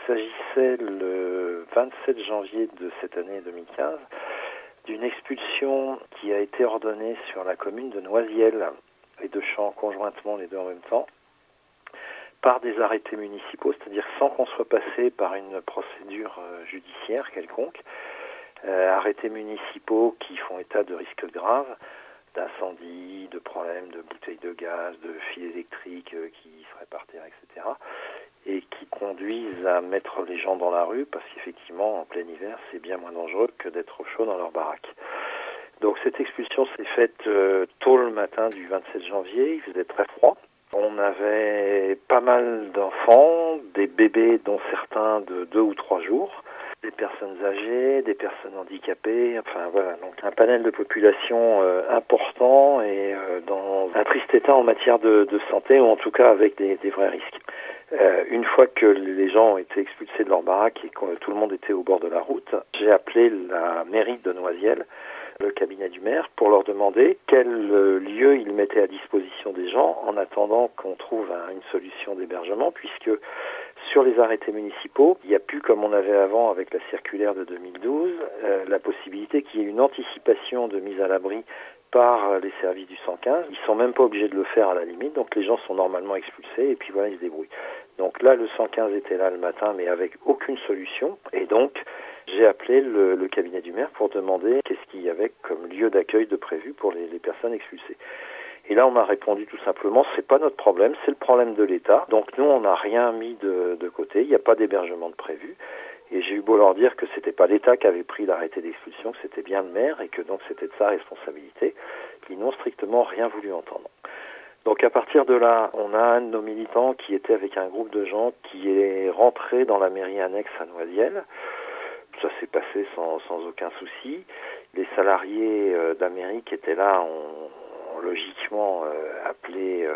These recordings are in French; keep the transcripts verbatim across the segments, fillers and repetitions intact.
s'agissait le vingt-sept janvier de cette année deux mille quinze d'une expulsion qui a été ordonnée sur la commune de Noisiel et de Champs conjointement, les deux en même temps, par des arrêtés municipaux, c'est-à-dire sans qu'on soit passé par une procédure judiciaire quelconque, euh, arrêtés municipaux qui font état de risques graves, d'incendie, de problèmes de bouteilles de gaz, de fils électriques euh, qui seraient par terre, et cetera, et qui conduisent à mettre les gens dans la rue, parce qu'effectivement, en plein hiver, c'est bien moins dangereux que d'être au chaud dans leur baraque. Donc cette expulsion s'est faite euh, tôt le matin du vingt-sept janvier, il faisait très froid. On avait pas mal d'enfants, des bébés dont certains de deux ou trois jours, des personnes âgées, des personnes handicapées, enfin voilà, donc un panel de population euh, important et euh, dans un triste état en matière de, de santé, ou en tout cas avec des, des vrais risques. Euh, une fois que les gens ont été expulsés de leur baraque et que tout le monde était au bord de la route, j'ai appelé la mairie de Noisiel, le cabinet du maire, pour leur demander quel lieu ils mettaient à disposition des gens en attendant qu'on trouve un, une solution d'hébergement, puisque sur les arrêtés municipaux, il n'y a plus, comme on avait avant avec la circulaire de deux mille douze, euh, la possibilité qu'il y ait une anticipation de mise à l'abri par les services du cent quinze. Ils sont même pas obligés de le faire à la limite, donc les gens sont normalement expulsés et puis voilà, ils se débrouillent. Donc là, le cent quinze était là le matin, mais avec aucune solution, et donc j'ai appelé le, le cabinet du maire pour demander qu'est-ce qu'il y avait comme lieu d'accueil de prévu pour les, les personnes expulsées. Et là, on m'a répondu tout simplement, c'est pas notre problème, c'est le problème de l'État. Donc nous, on n'a rien mis de, de côté, il n'y a pas d'hébergement de prévu. Et j'ai eu beau leur dire que c'était pas l'État qui avait pris l'arrêté d'expulsion, que c'était bien le maire et que donc c'était de sa responsabilité. Ils n'ont strictement rien voulu entendre. Donc à partir de là, on a un de nos militants qui était avec un groupe de gens qui est rentré dans la mairie annexe à Noisiel. Ça s'est passé sans, sans aucun souci. Les salariés euh, de la mairie qui étaient là ont, ont logiquement euh, appelé euh,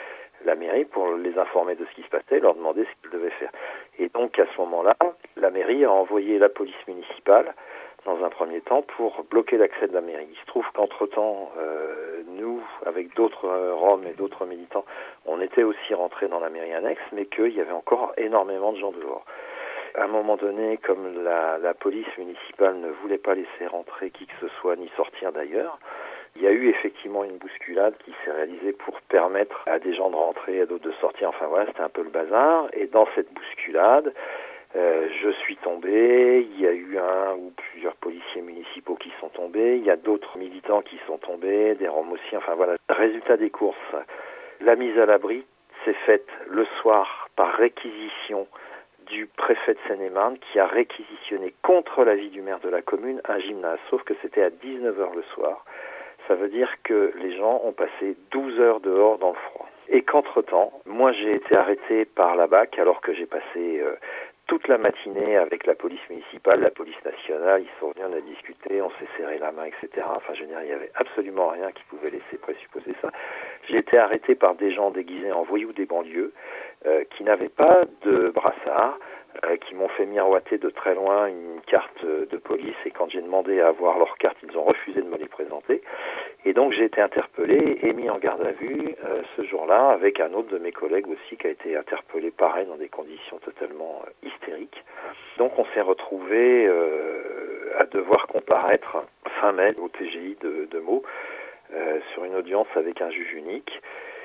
la mairie pour les informer de ce qui se passait, leur demander ce qu'ils devaient faire. Et donc à ce moment-là, la mairie a envoyé la police municipale dans un premier temps pour bloquer l'accès de la mairie. Il se trouve qu'entre-temps, euh, nous, avec d'autres euh, Roms et d'autres militants, on était aussi rentrés dans la mairie annexe, mais qu'il y avait encore énormément de gens dehors. À un moment donné, comme la, la police municipale ne voulait pas laisser rentrer qui que ce soit, ni sortir d'ailleurs, il y a eu effectivement une bousculade qui s'est réalisée pour permettre à des gens de rentrer, à d'autres de sortir. Enfin voilà, c'était un peu le bazar. Et dans cette bousculade, euh, je suis tombé. Il y a eu un ou plusieurs policiers municipaux qui sont tombés. Il y a d'autres militants qui sont tombés, des Roms aussi. Enfin voilà. Résultat des courses, la mise à l'abri s'est faite le soir par réquisition du préfet de Seine-et-Marne qui a réquisitionné contre l'avis du maire de la commune un gymnase, sauf que c'était à dix-neuf heures le soir. Ça veut dire que les gens ont passé douze heures dehors dans le froid. Et qu'entre-temps, moi j'ai été arrêté par la B A C alors que j'ai passé euh, toute la matinée avec la police municipale, la police nationale, ils sont venus, on a discuté, on s'est serré la main, et cetera. Enfin je veux dire, il n'y avait absolument rien qui pouvait laisser présupposer ça. J'ai été arrêté par des gens déguisés en voyous des banlieues, euh, qui n'avaient pas de brassard, euh, qui m'ont fait miroiter de très loin une carte de police, et quand j'ai demandé à avoir leur carte, ils ont refusé de me les présenter. Et donc j'ai été interpellé et mis en garde à vue euh, ce jour-là, avec un autre de mes collègues aussi qui a été interpellé pareil dans des conditions totalement euh, hystériques. Donc on s'est retrouvé euh, à devoir comparaître fin mai au T G I de, de Meaux euh, sur une audience avec un juge unique.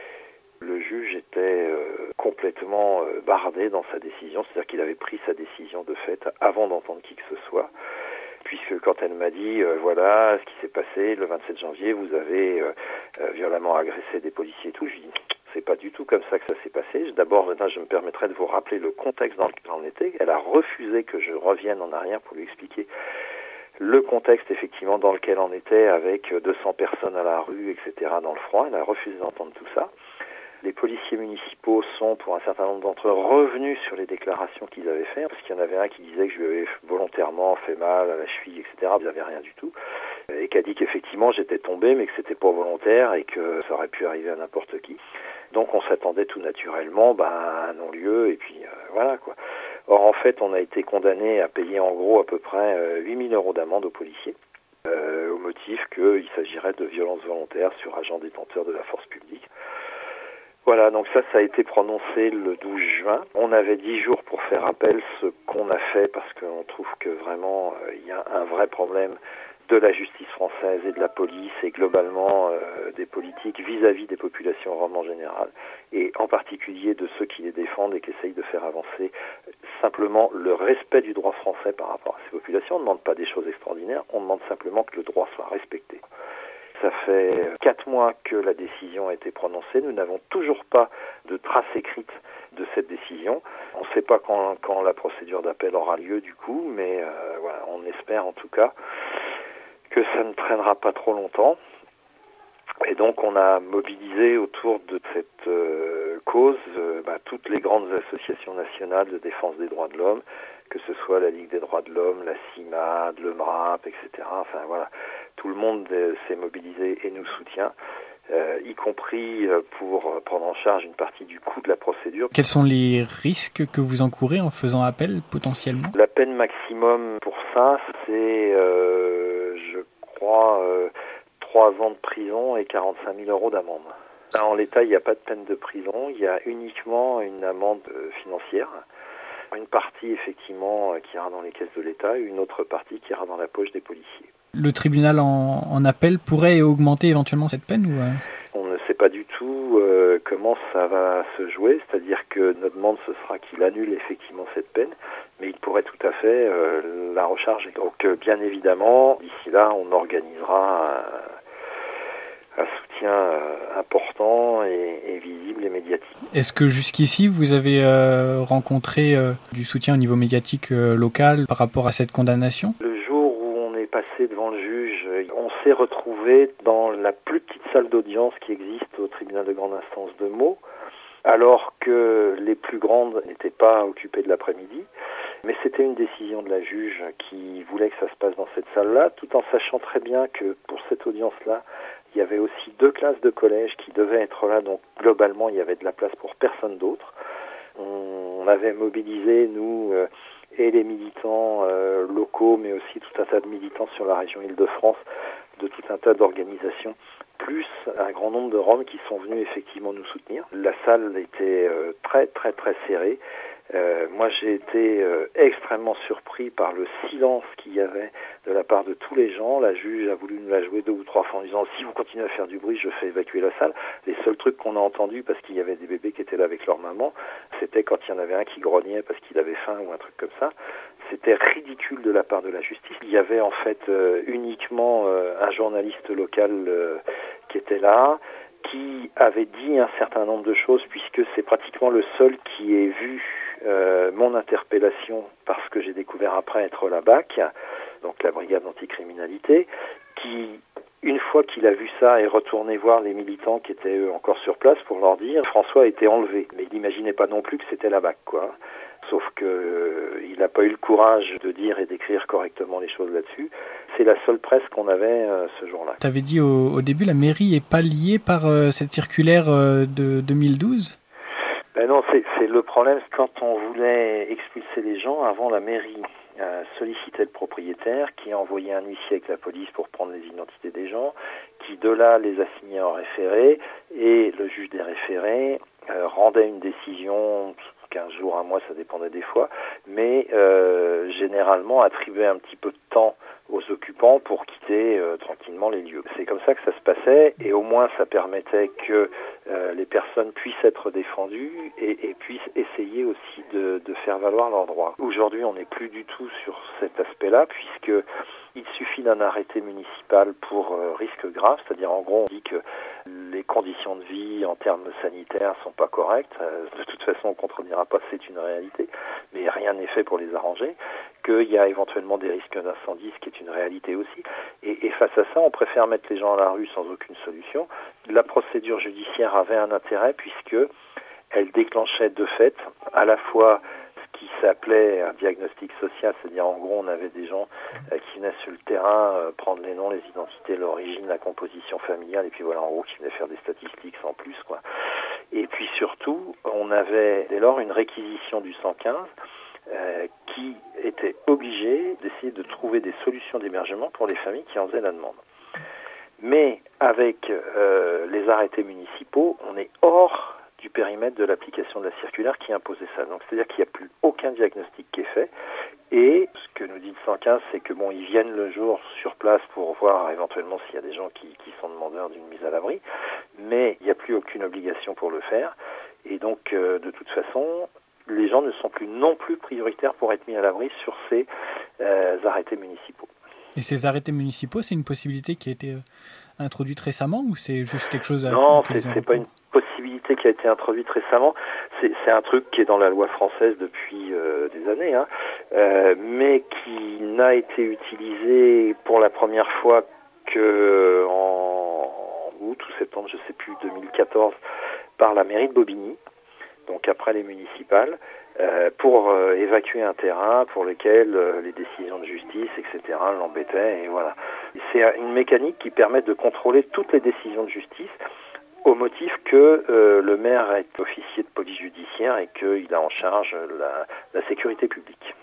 Le juge était euh, complètement euh, bardé dans sa décision, c'est-à-dire qu'il avait pris sa décision de fait avant d'entendre qui que ce soit, puisque quand elle m'a dit, euh, voilà ce qui s'est passé le vingt-sept janvier, vous avez euh, euh, violemment agressé des policiers et tout, je lui dis, c'est pas du tout comme ça que ça s'est passé. D'abord, maintenant, je me permettrai de vous rappeler le contexte dans lequel on était. Elle a refusé que je revienne en arrière pour lui expliquer le contexte effectivement dans lequel on était, avec deux cents personnes à la rue, et cetera dans le froid. Elle a refusé d'entendre tout ça. Les policiers municipaux sont, pour un certain nombre d'entre eux, revenus sur les déclarations qu'ils avaient faites, parce qu'il y en avait un qui disait que je lui avais volontairement fait mal à la cheville, et cetera. Il n'y avait rien du tout. Et qui a dit qu'effectivement j'étais tombé, mais que c'était pas volontaire et que ça aurait pu arriver à n'importe qui. Donc on s'attendait tout naturellement bah, à un non-lieu, et puis euh, voilà quoi. Or en fait, on a été condamné à payer en gros à peu près euh, huit mille euros d'amende aux policiers, euh, au motif qu'il s'agirait de violences volontaires sur agents détenteurs de la force publique. Voilà, donc ça, ça a été prononcé le douze juin. On avait dix jours pour faire appel, ce qu'on a fait parce qu'on trouve que vraiment il euh, y a un vrai problème de la justice française et de la police et globalement euh, des politiques vis-à-vis des populations roms en général et en particulier de ceux qui les défendent et qui essayent de faire avancer simplement le respect du droit français par rapport à ces populations. On ne demande pas des choses extraordinaires, on demande simplement que le droit soit respecté. Ça fait quatre mois que la décision a été prononcée. Nous n'avons toujours pas de trace écrite de cette décision. On ne sait pas quand, quand la procédure d'appel aura lieu du coup, mais euh, voilà, on espère en tout cas que ça ne traînera pas trop longtemps. Et donc on a mobilisé autour de cette euh, cause euh, bah, toutes les grandes associations nationales de défense des droits de l'homme, que ce soit la Ligue des droits de l'homme, la CIMAD, le M R A P, et cetera. Enfin voilà, tout le monde euh, s'est mobilisé et nous soutient, euh, y compris euh, pour prendre en charge une partie du coût de la procédure. Quels sont les risques que vous encourez en faisant appel potentiellement ? La peine maximum pour ça, c'est, euh, je crois, euh, trois ans de prison et quarante-cinq mille euros d'amende. Là, en l'état, il n'y a pas de peine de prison, il y a uniquement une amende euh, financière. Une partie, effectivement, qui ira dans les caisses de l'État et une autre partie qui ira dans la poche des policiers. Le tribunal en, en appel pourrait augmenter éventuellement cette peine ou euh... On ne sait pas du tout euh, comment ça va se jouer, c'est-à-dire que notre demande, ce sera qu'il annule effectivement cette peine, mais il pourrait tout à fait euh, la recharger. Donc, euh, bien évidemment, d'ici là, on organisera un, un soutien euh, important et, et visible et médiatique. Est-ce que jusqu'ici, vous avez euh, rencontré euh, du soutien au niveau médiatique euh, local par rapport à cette condamnation ? Le jour où on est passé devant le juge, on s'est retrouvé dans la plus petite salle d'audience qui existe au tribunal de grande instance de Meaux, alors que les plus grandes n'étaient pas occupées de l'après-midi. Mais c'était une décision de la juge qui voulait que ça se passe dans cette salle-là, tout en sachant très bien que pour cette audience-là, il y avait aussi deux classes de collège qui devaient être là, donc globalement il y avait de la place pour personne d'autre. On avait mobilisé, nous, euh, et les militants euh, locaux, mais aussi tout un tas de militants sur la région Île-de-France, de tout un tas d'organisations, plus un grand nombre de Roms qui sont venus effectivement nous soutenir. La salle était euh, très très très serrée. Euh, moi j'ai été euh, extrêmement surpris par le silence qu'il y avait de la part de tous les gens. La juge a voulu nous la jouer deux ou trois fois en disant si vous continuez à faire du bruit, je fais évacuer la salle. Les seuls trucs qu'on a entendus, parce qu'il y avait des bébés qui étaient là avec leur maman, c'était quand il y en avait un qui grognait parce qu'il avait faim ou un truc comme ça. C'était ridicule de la part de la justice. Il y avait en fait euh, uniquement euh, un journaliste local euh, qui était là, qui avait dit un certain nombre de choses, puisque c'est pratiquement le seul qui ait vu euh, mon interpellation, parce que j'ai découvert après être la B A C, donc la brigade anticriminalité, qui, une fois qu'il a vu ça, est retourné voir les militants qui étaient eux encore sur place pour leur dire François a été enlevé. Mais il n'imaginait pas non plus que c'était la B A C, quoi. Sauf que euh, il n'a pas eu le courage de dire et d'écrire correctement les choses là-dessus. C'est la seule presse qu'on avait euh, ce jour-là. Tu avais dit au, au début, la mairie n'est pas liée par euh, cette circulaire euh, de deux mille douze ? Ben non, c'est, c'est le problème. Quand on voulait expulser les gens, avant la mairie euh, sollicitait le propriétaire, qui envoyait un huissier avec la police pour prendre les identités des gens, qui de là les assignait en référé, et le juge des référés euh, rendait une décision quinze jours, un mois, ça dépendait des fois, mais euh, généralement attribuait un petit peu de temps aux occupants pour quitter euh, tranquillement les lieux. C'est comme ça que ça se passait, et au moins ça permettait que euh, les personnes puissent être défendues et, et puissent essayer aussi de, de faire valoir leurs droits. Aujourd'hui, on n'est plus du tout sur cet aspect-là, puisque il suffit d'un arrêté municipal pour euh, risque grave, c'est-à-dire en gros on dit que les conditions de vie en termes sanitaires sont pas correctes, euh, de toute façon on ne contredira pas, c'est une réalité, mais rien n'est fait pour les arranger, qu'il y a éventuellement des risques d'incendie, ce qui est une réalité aussi, et, et face à ça on préfère mettre les gens à la rue sans aucune solution. La procédure judiciaire avait un intérêt puisque elle déclenchait de fait à la fois qui s'appelait un diagnostic social, c'est-à-dire en gros on avait des gens euh, qui venaient sur le terrain euh, prendre les noms, les identités, l'origine, la composition familiale, et puis voilà en gros qui venaient faire des statistiques sans plus, quoi. Et puis surtout on avait dès lors une réquisition du cent quinze euh, qui était obligée d'essayer de trouver des solutions d'hébergement pour les familles qui en faisaient la demande. Mais avec euh, les arrêtés municipaux, on est hors du périmètre de l'application de la circulaire qui imposait ça. Donc c'est-à-dire qu'il n'y a plus aucun diagnostic qui est fait. Et ce que nous dit le cent quinze, c'est que bon, ils viennent le jour sur place pour voir éventuellement s'il y a des gens qui, qui sont demandeurs d'une mise à l'abri, mais il n'y a plus aucune obligation pour le faire. Et donc, euh, de toute façon, les gens ne sont plus non plus prioritaires pour être mis à l'abri sur ces euh, arrêtés municipaux. Et ces arrêtés municipaux, c'est une possibilité qui a été euh, introduite récemment ou c'est juste quelque chose à... Non, c'est, c'est pas une possibilité qui a été introduite récemment. C'est, c'est un truc qui est dans la loi française depuis euh, des années, hein, euh, mais qui n'a été utilisé pour la première fois que en août ou septembre, je sais plus, deux mille quatorze, par la mairie de Bobigny, donc après les municipales, euh, pour euh, évacuer un terrain pour lequel euh, les décisions de justice, et cetera, l'embêtaient, et voilà. C'est une mécanique qui permet de contrôler toutes les décisions de justice au motif que euh, le maire est officier de police judiciaire et qu'il a en charge la, la sécurité publique.